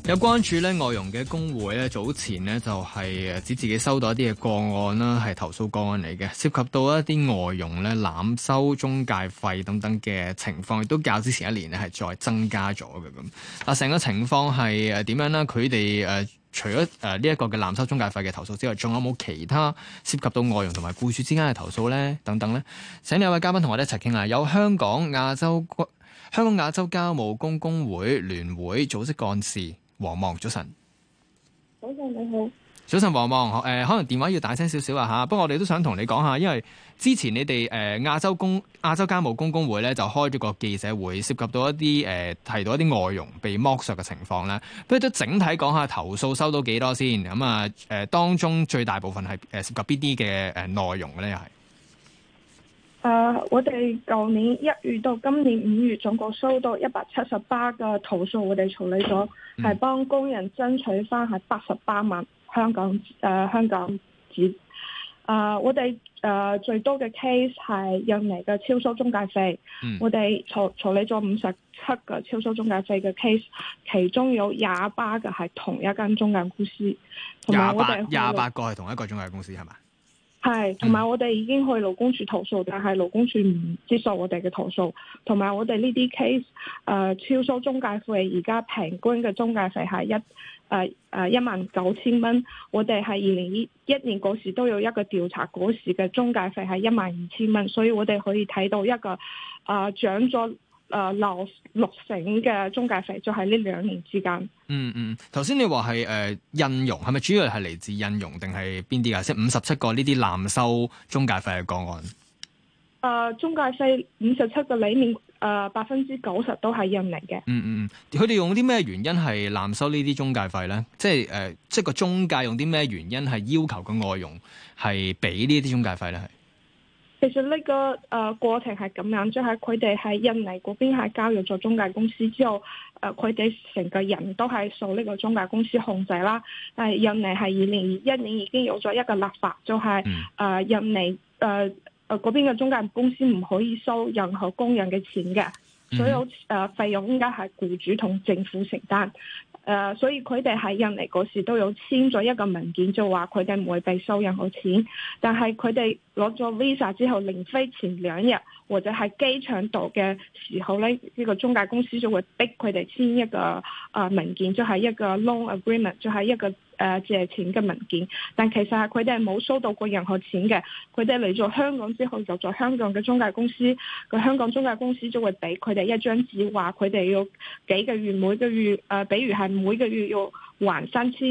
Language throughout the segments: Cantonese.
有關注咧外傭嘅工會咧，早前呢就係指自己收到一啲嘅個案啦，係投訴個案嚟嘅，涉及到一啲外傭咧濫收中介費等等嘅情況，亦都較之前一年咧係再增加咗嘅咁。嗱，成個情況係點樣呢？佢哋除咗呢一個嘅濫收中介費嘅投訴之外，仲有冇其他涉及到外傭同埋僱主之間嘅投訴咧？等等咧，請兩位嘉賓同我哋一齊傾下。有香港亞洲家務工工會聯會組織幹事黃望，早晨。 早晨你好。 早晨黃望，可能電話要大聲少少啊嚇，不過我哋都想同你講下，因為之前你哋亞洲家務工工會咧就開咗個記者會，涉及到一啲提到一啲外傭被剝削嘅情況咧，不如都整體講下投訴收到幾多先，咁啊當中最大部分係涉及邊啲嘅內容咧又係？ 我哋舊年1月到今年5月總共收到178個投訴，我哋處理咗，係幫工人爭取翻係88萬香港紙。我哋最多嘅 case 係印尼嘅超收中介費，我哋處理咗57個超收中介費嘅 case， 其中有28個係同一間中介公司，同埋我哋 28個係同一個中介公司係嘛？ 係，同埋我哋已經去勞工處投訴，但係勞工處唔接受我哋嘅投訴。同埋我哋呢啲 case，超收中介費，而家平均嘅中介費係19000蚊。我哋係2021年嗰時都有一個調查，嗰時嘅中介費係12000蚊，所以我哋可以睇到一個漲咗六成嘅中介費，就係呢2年之間。 頭先你話係印傭，係咪主要係嚟自印傭定係邊啲啊？即係57個呢啲濫收中介費嘅個案。 中介費57個裡面90%都係印尼嘅。 佢哋用啲咩原因係濫收呢啲中介費咧？即係個中介用啲咩原因係要求個外傭係俾呢啲中介費咧？係其實呢個過程係咁樣，即係佢哋喺印尼嗰邊係交易咗中介公司之後，佢哋成個人都係受呢個中介公司控制啦。但係印尼係2021年已經有咗一個立法，就係印尼嗰邊嘅中介公司唔可以收任何工人嘅錢嘅，所有費用應該係僱主同政府承擔。所以佢哋喺印尼嗰時都有簽咗一個文件，就話佢哋唔會被收任何錢。但係佢哋攞咗 visa 之後，臨飛前2日或者喺機場度嘅時候咧，呢個中介公司就會逼佢哋簽一個文件，就係一個 loan agreement， 就係一個借錢嘅文件。但其實係佢哋係冇收到過任何錢嘅。佢哋嚟咗香港之後，就在香港嘅中介公司，個香港中介公司就會俾佢哋一張紙，話佢哋要幾個月，每個月比如係每個月要還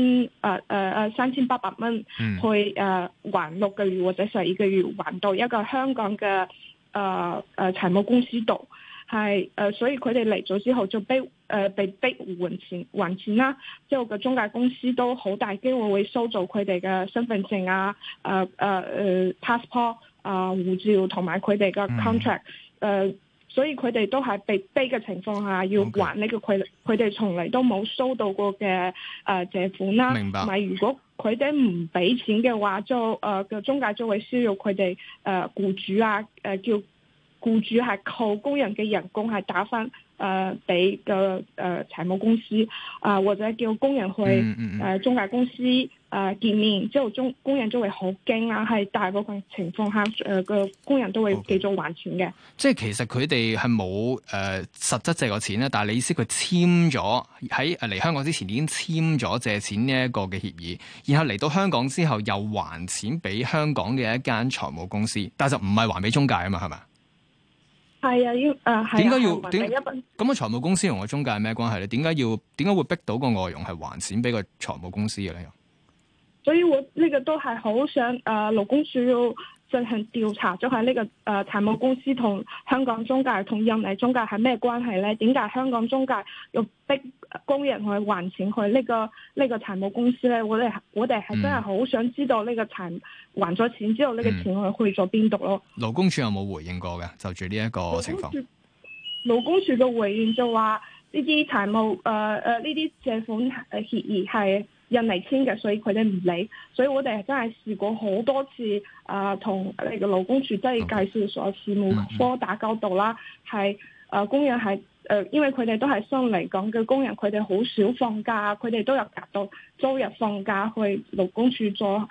3800蚊，去還6個月或者12個月，還到一個香港嘅財務公司度。係所以佢哋嚟咗之後就被逼還錢啦。之後個中介公司都好大機會會收走佢哋嘅身份證passport 護照同埋佢哋嘅 contract。所以佢哋都係被逼嘅情況下要還呢個佢哋從嚟都冇收到過嘅借款啦。 明白。 同埋如果佢哋唔俾錢嘅話，就個中介就會需要佢哋僱主叫僱主係扣工人嘅人工係打翻俾個財務公司或者叫工人去中介公司見面，之後工人都會好驚啦。係大部分情況下個工人都會繼續還錢嘅。 即係其實佢哋係冇實質借過錢咧，但係你意思佢簽咗喺嚟香港之前已經簽咗借錢呢一個嘅協議，然後嚟到香港之後又還錢俾香港嘅一間財務公司，但係就唔係還俾中介啊嘛，係咪？係啊，要點解要點咁個財務公司同個中介係咩關係咧？點解會逼到個外傭係還錢俾個財務公司嘅咧？ 所以我呢個都係好想勞工處要進行調查，就係呢個財務公司同香港中介同印尼中介係咩關係咧？點解香港中介要逼工人去還錢去呢個財務公司咧？我哋係真係好想知道呢個還咗錢之後呢個錢去咗邊度咯？ 勞工處有冇回應過嘅？就住呢一個情況， 勞工處嘅回應就話呢啲財務呢啲借款協議係印尼簽嘅，所以佢哋唔理。所以我哋真係試過好多次同呢個勞工處即係介紹所事務科打交道啦，係工人係因為佢哋都係新嚟港嘅工人，佢哋好少放假，佢哋都有夾到周日放假去勞工處做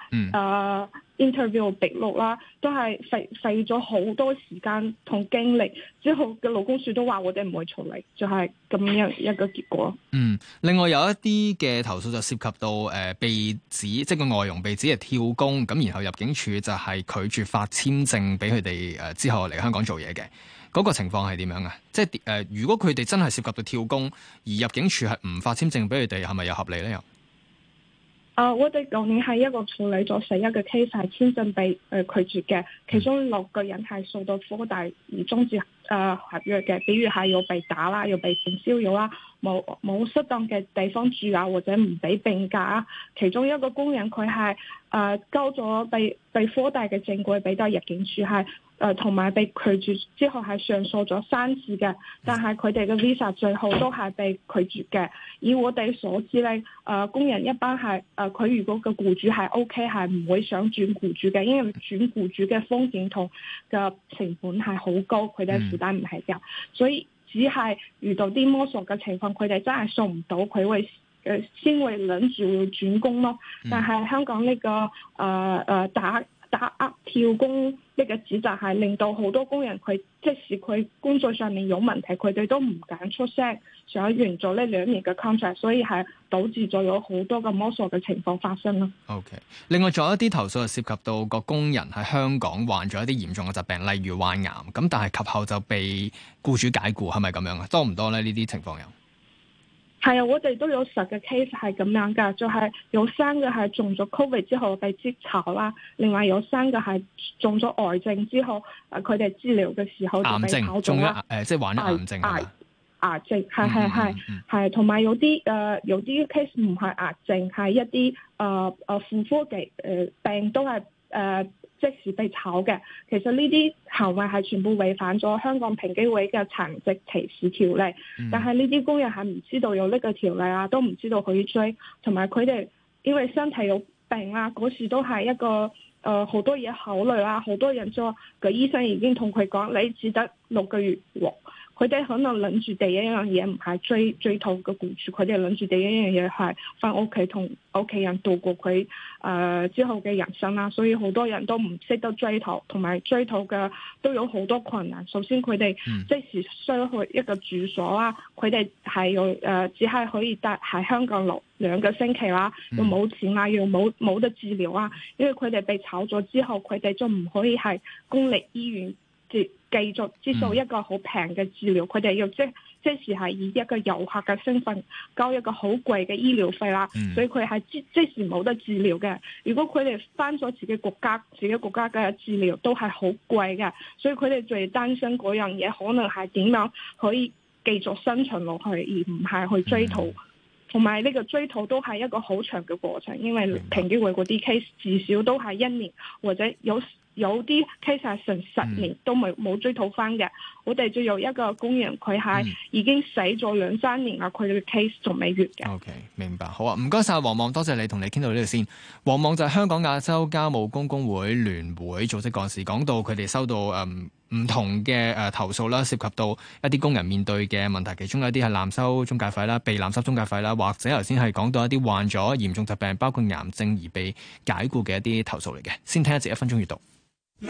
interview 筆錄啦，都係費咗好多時間同精力，之後嘅勞工處都話我哋唔會處理，就係咁樣一個結果。 另外有一啲嘅投訴就涉及到被指即係個外傭被指係跳工，咁然後入境處就係拒絕發簽證俾佢哋之後嚟香港做嘢嘅，嗰個情況係點樣啊？即係如果佢哋真係涉及到跳工，而入境處係唔發簽證俾佢哋，係咪又合理咧？又？ 我哋舊年係一個處理咗11個 case 係簽證被拒絕嘅，其中6個人係受到科大而終止合約嘅，比如係要被打啦，要被性騷擾啦，冇適當嘅地方住啊，或者唔俾病假啊。其中一個工人佢係交咗被科大嘅證據俾到入境處係。同埋被拒絕之後係上訴咗3次嘅，但係佢哋嘅 visa 最後都係被拒絕嘅。以我哋所知咧，工人一般係佢如果個僱主係 OK， 係唔會想轉僱主嘅，因為轉僱主嘅風險同嘅成本係好高，佢哋負擔唔起嘅，所以只係遇到啲摸索嘅情況，佢哋真係送唔到，佢會先會諗住要轉工咯。但係香港呢個打壓跳工呢個指責係令到好多工人佢即使佢工作上面有問題，佢哋都唔敢出聲，想完咗呢2年嘅 contract， 所以係導致咗有好多嘅摸索嘅情況發生咯。 OK， 另外仲有一啲投訴係涉及到個工人喺香港患咗一啲嚴重嘅疾病，例如患癌，咁但係及後就被僱主解僱，係咪咁樣啊？多唔多咧？呢啲情況有？ 係啊，我哋都有10個 case 係咁樣噶，就係有3個係中咗 COVID 之後被職炒啦，另外有3個係中咗癌症之後，佢哋治療嘅時候就被炒咗啦。 即係患咗癌症係嘛？ 癌症係，同埋有啲case 唔係癌症，係一啲婦科嘅病都係即時被炒嘅。其實呢啲行為係全部違反咗香港平機會嘅殘疾歧視條例，但係呢啲工人係唔知道有呢個條例啊，都唔知道可以追，同埋佢哋因為身體有病啊，嗰時都係一個好多嘢考慮啦，好多人就個醫生已經同佢講，你只得6個月喎。佢哋可能諗住第一樣嘢唔係追討個僱主，佢哋諗住第一樣嘢係翻屋企同屋企人度過佢之後嘅人生啦。所以好多人都唔識得追討，同埋追討嘅都有好多困難。首先佢哋即時需要去一個住所啦，佢哋係要只係可以待喺香港留2個星期啦，又冇錢啦，又冇得治療啦。因為佢哋被炒咗之後，佢哋就唔可以喺公立醫院繼續接受一個好平嘅治療，佢哋要即時係以一個遊客嘅身份交一個好貴嘅醫療費啦，所以佢係即時冇得治療嘅。如果佢哋翻咗自己國家嘅治療都係好貴嘅，所以佢哋最擔心嗰樣嘢可能係點樣可以繼續生存落去，而唔係去追討。同埋呢個追討都係一個好長嘅過程，因為平機會嗰啲 case 至少都係1年，或者有啲 case 係成10年都冇追討翻嘅。我哋就有一個工人，佢係已經死咗2-3年啦，佢嘅 case 仲未完嘅。 OK， 明白。好啊，唔該晒黃莽，多謝你同你傾到呢度先。黃莽就係香港亞洲家務工工會聯會組織幹事，講到佢哋收到唔同嘅投訴啦，涉及到一啲工人面對嘅問題，其中有一啲係濫收中介費啦，被濫收中介費啦，或者頭先係講到一啲患咗嚴重疾病，包括癌症而被解僱嘅一啲投訴嚟嘅。先聽一節1分鐘閱讀。